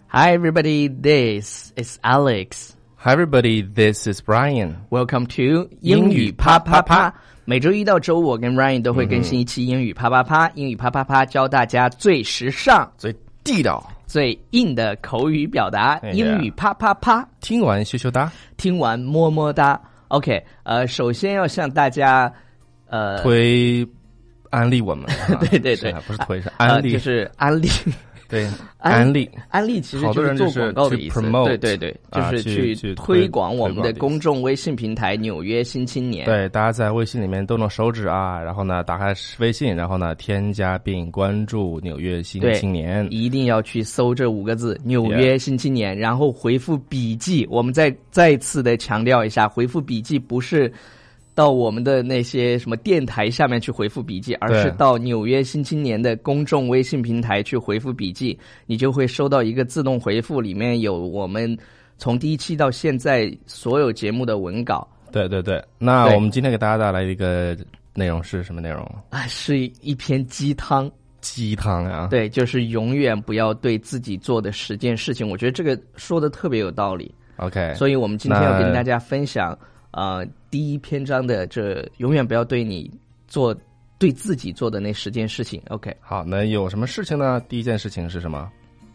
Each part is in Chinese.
Hi everybody, this is Alex. Hi everybody, this is Brian. Welcome to 英语啪啪啪。每周一到周五，我跟 Ryan 都会更新一期英语啪啪啪。英语啪啪啪教大家最时尚、 最地道、 最硬的口语表达。英语啪啪啪， 听完羞羞哒， 听完么么哒。OK， 首先要向大家推安利我们。 对对对， 不是推是安利， 就是安利。 对，安利其实就是做广告的意思。对对对，就是去推广我们的公众微信平台《纽约新青年》。 对，大家在微信里面动动手指啊，然后呢，打开微信，然后呢，添加并关注《纽约新青年》。 一定要去搜这5个字《纽约新青年》，然后回复笔记。我们再次的强调一下，回复笔记不是到我们的那些什么电台下面去回复笔记，而是到纽约新青年的公众微信平台去回复笔记，你就会收到一个自动回复，里面有我们从第一期到现在所有节目的文稿。 对对对，那我们今天给大家带来一个内容是什么内容啊？是一篇鸡汤。 鸡汤啊？对， 就是永远不要对自己做的10件事情，我觉得这个说的特别有道理。 OK， 所以我们今天要跟大家分享第一篇章的这永远不要对自己做的那10件事情。 OK， 好，那有什么事情呢？第一件事情是什么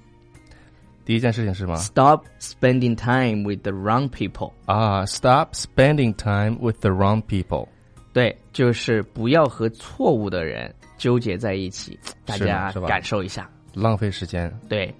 ？Stop spending time with the wrong people。 Stop spending time with the wrong people。 对，就是不要和错误的人纠结在一起。大家感受一下， 浪费时间。 对，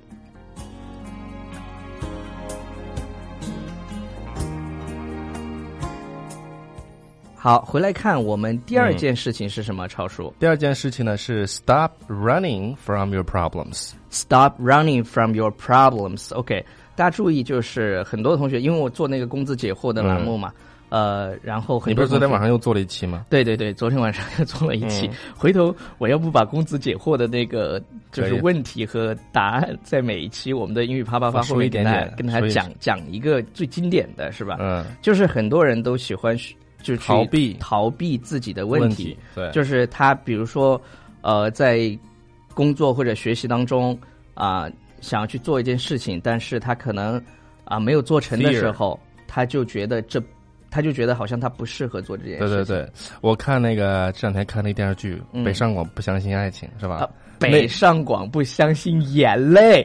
好，回来看我们第二件事情是什么？超叔， 第二件事情呢是 Stop running from your problems。 Stop running from your problems。 OK， 大家注意，就是很多同学，因为我做那个工资解惑的栏目嘛，然后很多同学， 你不是昨天晚上又做了一期吗？ 对对对，昨天晚上又做了一期。回头我要不把工资解惑的那个就是问题和答案，在每一期我们的英语啪啪啪后面跟大家讲一个最经典的是吧？就是很多人都喜欢就去逃避自己的问题。 对， 就是他比如说在工作或者学习当中想要去做一件事情，但是他可能没有做成的时候，他就觉得好像他不适合做这件事情。 对对对，我看这两天看那电视剧北上广不相信爱情是吧？ 北上广不相信眼泪。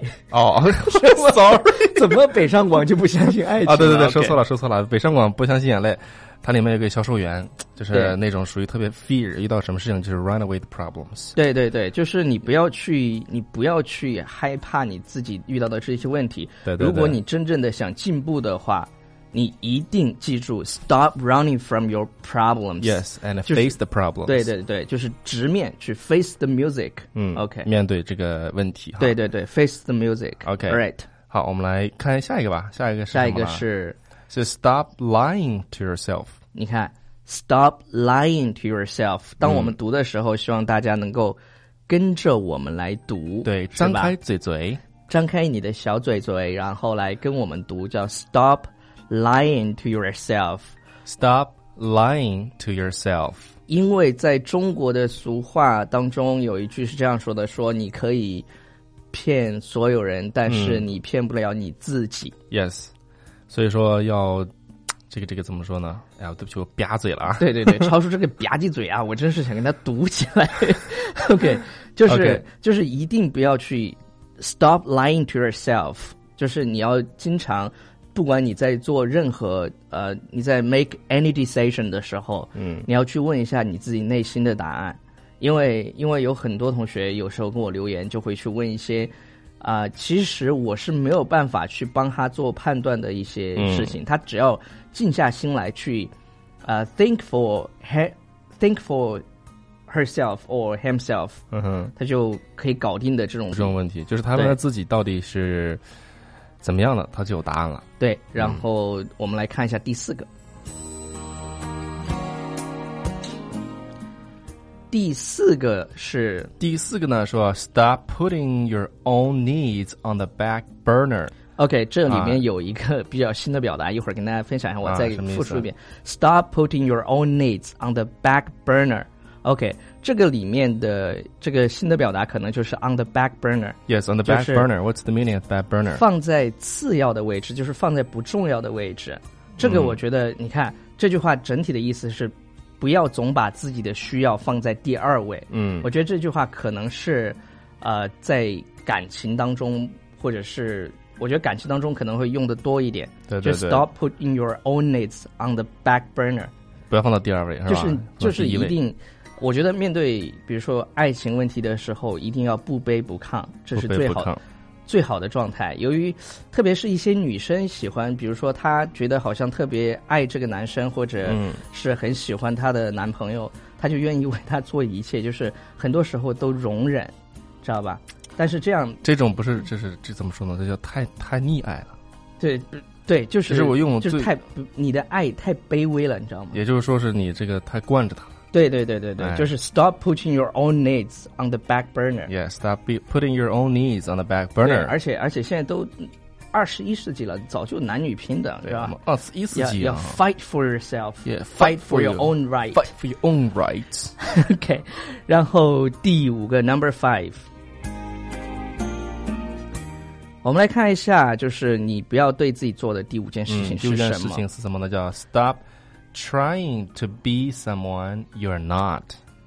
sorry， 怎么北上广就不相信爱情对对对，说错了，北上广不相信眼泪。它里面有个销售员，就是那种属于特别 fear， 遇到什么事情就是 run away the problems。 对对对，就是你不要去害怕你自己遇到的这些问题。 对对对， 如果你真正的想进步的话，你一定记住 stop running from your problems。 Yes, and face the problems。 对对对，就是直面去 face the music。 OK， 面对这个问题。 对对对， face the music。 OK， right。 好，我们来看下一个吧。下一个是 stop lying to yourself。 你看 stop lying to yourself， 当我们读的时候，希望大家能够跟着我们来读。 对，张开嘴， 张开你的小嘴嘴，然后来跟我们读，叫 stop lying to yourself。 Stop lying to yourself。 因为在中国的俗话当中有一句是这样说的，说你可以骗所有人，但是你骗不了你自己。 Yes， 所以说要这个怎么说呢？哎呀，对不起，我吧嘴了啊！ 对对对，超出这个吧唧嘴啊，我真是想跟他读起来。OK， 就是一定不要去 stop lying to yourself， 就是你要经常，不管你在做任何你在 make any decision 的时候，你要去问一下你自己内心的答案，因为有很多同学有时候跟我留言，就会去问一些其实我是没有办法去帮他做判断的一些事情，他只要静下心来去think for herself or himself， 他就可以搞定的这种问题，就是他们自己到底是怎么样的，他就有答案了。 对，然后我们来看一下第4个。第四个呢说 Stop putting your own needs on the back burner。 OK， 这里面有一个比较新的表达，一会儿跟大家分享一下，我再复述一遍。Stop putting your own needs on the back burner。 OK， 这个里面的这个新的表达可能就是 on the back burner. Yes, on the back burner. What's the meaning of back burner? 放在次要的位置，就是放在不重要的位置。这个我觉得，你看这句话整体的意思是，不要总把自己的需要放在第二位。我觉得这句话可能是，在感情当中，或者是我觉得感情当中可能会用的多一点。 对对对。 就 stop putting your own needs on the back burner. 不要放到第二位，是吧？ 就是一定。我觉得面对比如说爱情问题的时候，一定要不卑不亢，这是最好的状态。由于特别是一些女生喜欢，比如说她觉得好像特别爱这个男生，或者是很喜欢她的男朋友，她就愿意为他做一切，就是很多时候都容忍，知道吧？但是这种不是，这怎么说呢？这叫太溺爱了。 对，就是我用就是你的爱太卑微了，你知道吗？ 也就是说是你这个太惯着他了。 对，就是 stop putting your own needs on the back burner. Yeah, stop putting your own needs on the back burner. 而且现在都21世纪了，早就男女平等，是吧 ？21世纪要 fight for yourself. Yeah, fight for your own right. Fight for your own rights. OK, 然后第5个 number 5。我们来看一下，就是你不要对自己做的第5件事情是什么？ 第5件事情是什么呢？叫 stop trying to be someone you're not.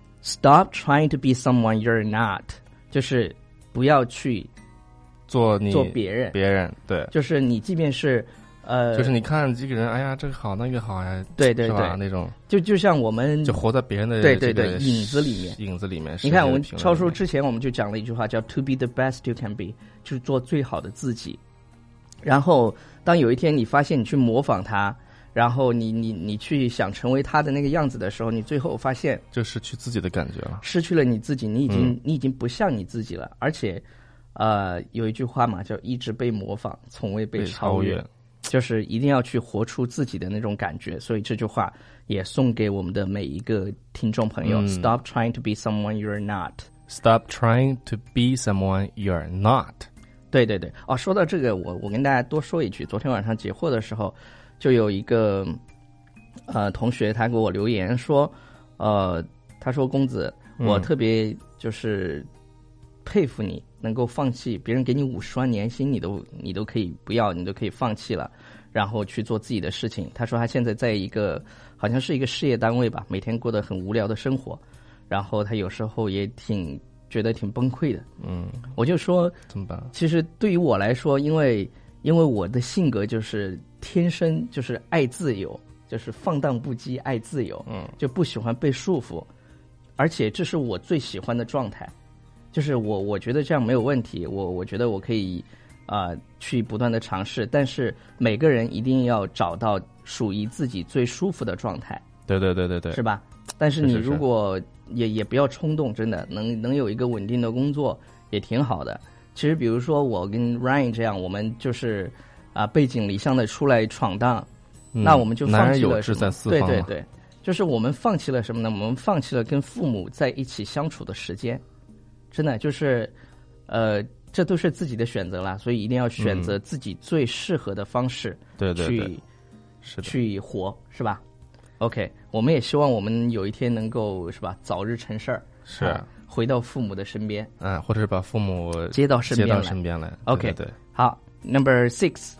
Stop trying to be someone you're not. 就是不要去做别人， 对， 就是你即便是就是你看这个人，哎呀，这个好那个好呀， 对， 是吧？那种就像我们就活在别人的对影子里面。你看我们超叔之前我们就讲了一句话叫 "To be the best you can be"， 就是做最好的自己。然后当有一天你发现你去模仿他，然后你去想成为他的那个样子的时候，你最后发现就失去自己的感觉了， 失去了你自己，你已经不像你自己了。而且有一句话嘛，叫一直被模仿，从未被超越。就是一定要去活出自己的那种感觉，所以这句话也送给我们的每一个听众朋友。Stop trying to be someone you're not. Stop trying to be someone you're not. 对，说到这个，我跟大家多说一句，昨天晚上解惑的时候，就有一个同学他给我留言说，他说公子，我特别就是佩服你能够放弃别人给你50万年薪，你都可以不要，你都可以放弃了，然后去做自己的事情。他说他现在在一个好像是一个事业单位吧，每天过得很无聊的生活，然后他有时候也觉得挺崩溃的。我就说怎么办？ 其实对于我来说，因为我的性格就是天生就是爱自由，就是放荡不羁，爱自由，就不喜欢被束缚，而且这是我最喜欢的状态。就是我觉得这样没有问题，我觉得我可以去不断的尝试，但是每个人一定要找到属于自己最舒服的状态。 对， 是吧？但是你如果也不要冲动，真的能有一个稳定的工作也挺好的。其实比如说我跟 Ryan 这样，我们就是背井离乡的出来闯荡，那我们就放弃了什么？对，就是我们放弃了什么呢？我们放弃了跟父母在一起相处的时间。真的就是这都是自己的选择啦，所以一定要选择自己最适合的方式， 对， 去活，是吧 ？OK， 我们也希望我们有一天能够是吧，早日成事儿， 是回到父母的身边， 或者是把父母接到身边来。OK， 对， 好 ，Number 6，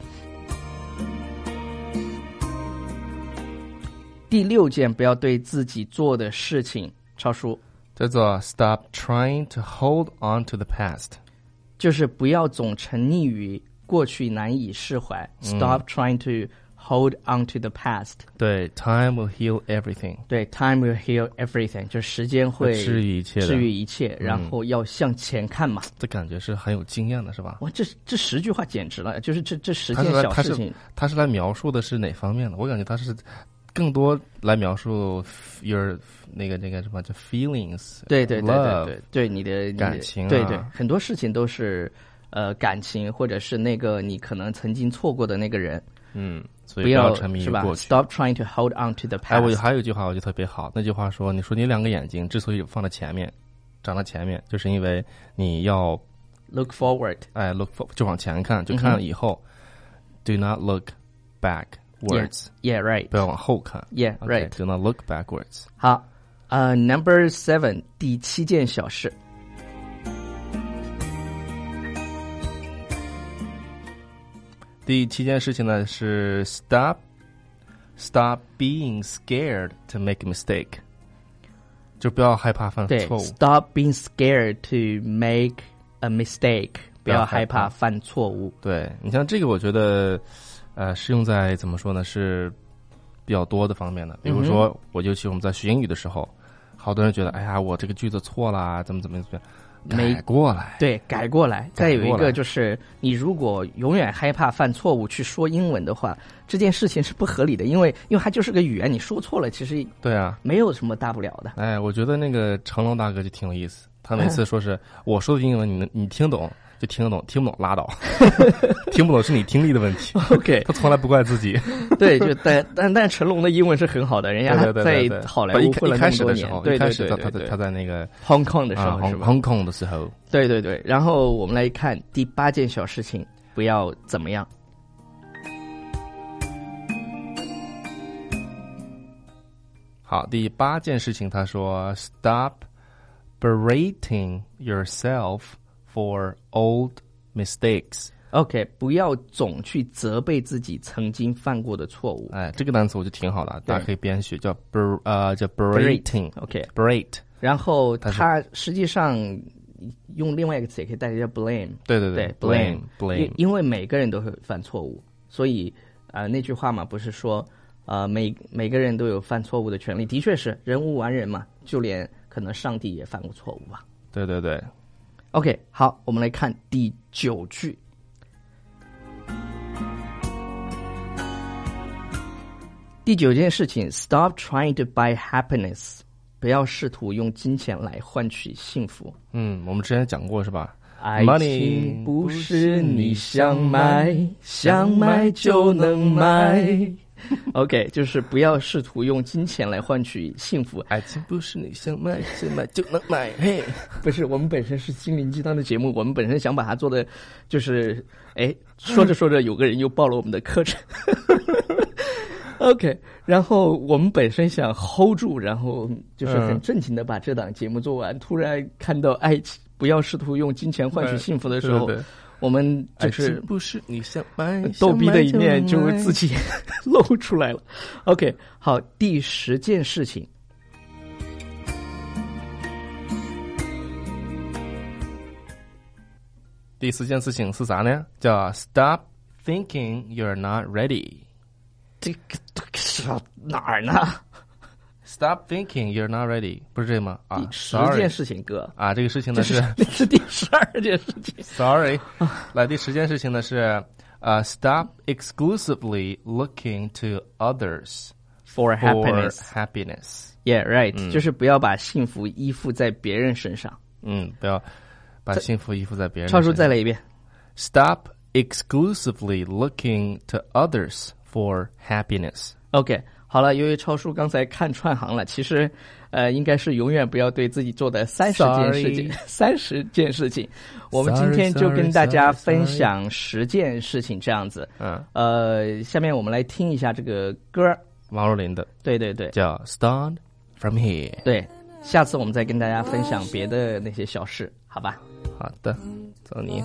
第6件不要对自己做的事情，超叔。 叫做 Stop trying to hold on to the past， 就是不要总沉溺于过去难以释怀。Stop trying to hold on to the past。 对 ，Time will heal everything。 对 ，Time will heal everything， 就时间会治愈一切， 然后要向前看嘛。 这感觉是很有经验的，是吧？ 哇，这10句话简直了，就是这10件小事情。 他是来描述的是哪方面的？我感觉他是更多来描述 your 那个什么叫 feelings， 对你的感情， 对，很多事情都是感情，或者是那个你可能曾经错过的那个人， 所以不要沉迷于过去。 Stop trying to hold on to the past。 我还有一句话我觉得特别好，那句话说，你说你2个眼睛之所以放在前面，长在前面，就是因为你要 look forward， look forward 就往前看，就看了以后，do not look backwards。 Yeah, right. 不要往后看。 Yeah, right. Do not look backwards. 好 Number 7， 第7件小事。 第7件事情呢是 stop being scared to make a mistake， 就不要害怕犯错误。 Stop being scared to make a mistake， 不要害怕犯错误。 对，你像这个，我觉得是用在怎么说呢，是比较多的方面的。比如说，尤其我们在学英语的时候，好多人觉得，哎呀，我这个句子错啦，怎么样。改过来， 对，改过来。再有一个就是，你如果永远害怕犯错误去说英文的话，这件事情是不合理的，因为它就是个语言，你说错了，其实对啊， 没有什么大不了的。 哎，我觉得那个成龙大哥就挺有意思，他每次说是我说的英文，你听懂就听得懂，听不懂拉倒，听不懂是你听力的问题。 OK， 他从来不怪自己。 对，就但成龙的英文是很好的，人家在好莱坞混了那么多年。 一开始他在那个 Hong Kong 的时候，是吧 ？Hong Kong 的时候。 对。然后我们来看第8件小事情，不要怎么样。 好，第8件事情，他说 Stop berating yourself for old mistakes。OK， 不要总去责备自己曾经犯过的错误。 哎，这个单词我就挺好的，大家可以边学，叫 berating。OK，berate。然后它实际上用另外一个词也可以代替叫 blame。 对 blame。因为每个人都会犯错误，所以那句话嘛，不是说每个人都有犯错误的权利。的确是人无完人嘛，就连可能上帝也犯过错误吧。 对。 OK， 好，我们来看第9句。第9件事情 ，Stop trying to buy happiness， 不要试图用金钱来换取幸福。 我们之前讲过是吧？ 爱情不是你想买就能买。OK， 就是不要试图用金钱来换取幸福。 爱情不是你想买就能买。嘿， 不是，我们本身是心灵鸡汤的节目，我们本身想把它做的就是，说着有个人又报了我们的课程。OK， 然后我们本身想 hold 住，然后就是很正经的把这档节目做完，突然看到爱情不要试图用金钱换取幸福的时候，我们就是不是你想买逗逼的一面就自己露出来了。OK， 好，第10件事情。 第4件事情是啥呢？叫 Stop thinking you're not ready。 这个哪儿呢 ？Stop thinking you're not ready， 不是这吗？ 第10件事情，哥啊，这个事情呢是第12件事情。 Sorry， 来第10件事情呢是Stop exclusively looking to others for happiness。Yeah, right，就是不要把幸福依附在别人身上。 不要把幸福依附在别人身上。 超叔再来一遍。 Stop exclusively looking to others for happiness。 OK， 好了，由于超叔刚才看串行了，其实应该是永远不要对自己做的30件事情。我们今天就跟大家分享10件事情这样子。下面我们来听一下这个歌， 王若琳的， 对， 叫 Start From Here。 对，下次我们再跟大家分享别的那些小事，好吧？ 好的，走你。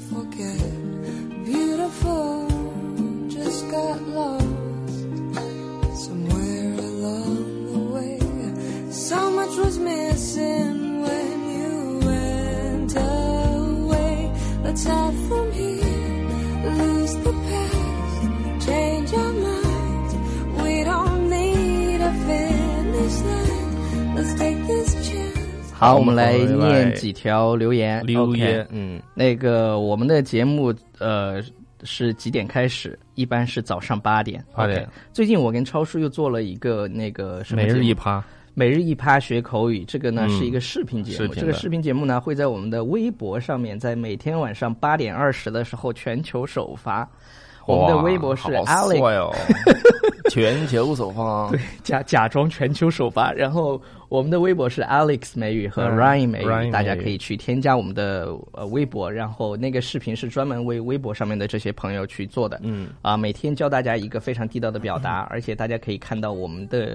Beautiful, just got lost somewhere along the way. So much was missing when you went away. Let's start from here, lose the past, change our minds. We don't need a finish line. Let's take this chance. 好，我们来念几条留言。 OK， 那个我们的节目是几点开始？一般是早上8点。 OK， 最近我跟超叔又做了一个那个什么每日一趴学口语，这个呢是一个视频节目。这个视频节目呢会在我们的微博上面，在每天晚上8点20的时候全球首发。我们的微博是 Alex， 全球首发， 对，假装全球首发。然后我们的微博是 Alex 美语和 Ryan 美语，大家可以去添加我们的微博。然后那个视频是专门为微博上面的这些朋友去做的。每天教大家一个非常地道的表达，而且大家可以看到我们的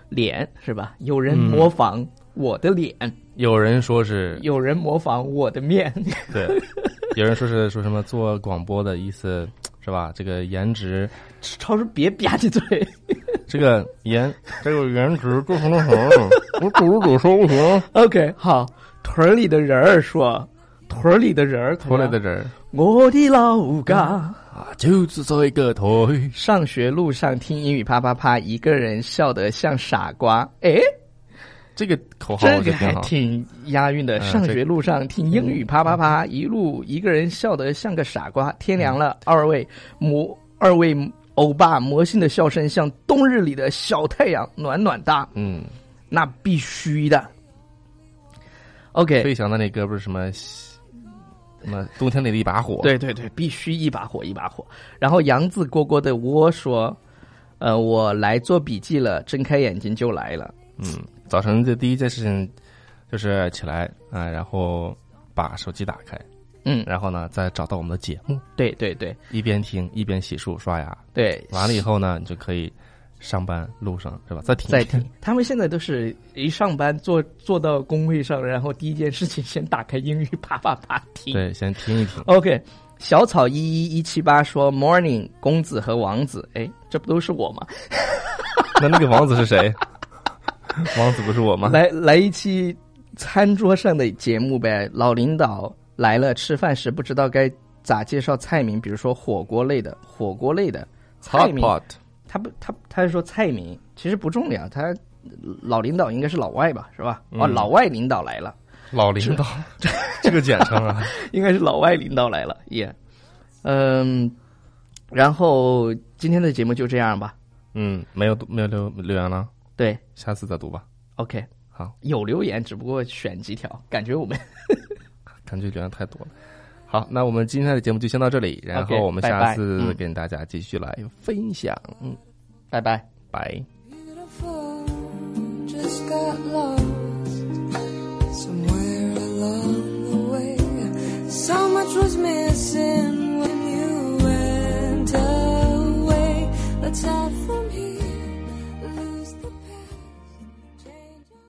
脸是吧？有人模仿我的脸， 有人说是， 有人模仿我的面， 对，有人说是说什么做广播的意思是吧？这个颜值， 超叔别吧唧嘴， 这个颜值做成了什么？我组说不行。 OK， 好，屯里的人儿说，屯里的人儿， 屯里的人儿， 我的老家啊，就是这个屯。 上学路上听英语啪啪啪，一个人笑得像傻瓜。哎， 这个口号这个还挺押韵的。上学路上听英语啪啪啪，一个人笑得像个傻瓜。天凉了，二位欧巴魔性的笑声像冬日里的小太阳，暖暖哒。那必须的。OK， 飞翔的那歌不是什么冬天里的一把火？ 对对对，必须一把火一把火。然后杨子蝈蝈的窝说，我来做笔记了，睁开眼睛就来了。 早晨的第一件事情就是起来啊，然后把手机打开。然后呢，再找到我们的节目。 对对对， 一边听一边洗漱刷牙。 对， 完了以后呢，你就可以上班路上是吧？再听。 他们现在都是一上班坐到工位上，然后第一件事情先打开英语啪啪啪听。 对，先听一听。 OK， 小草11178说 Morning， 公子和王子，哎，这不都是我吗？ 那个王子是谁？王子不是我吗？ 来一期餐桌上的节目呗。老领导来了，吃饭时不知道该咋介绍菜名，比如说火锅类的菜名。 Hot pot。 他是说菜名，其实不重要。他老领导应该是老外吧，是吧？老外领导来了。 老领导，这个简称啊， 应该是老外领导来了。也，然后今天的节目就这样吧。 没有留言了。 对， 下次再读吧。 OK， 好， 有留言，只不过选几条，感觉我们感觉留言太多了。好，那我们今天的节目就先到这里，然后我们下次跟大家继续来分享。 拜拜， 拜。 Let's have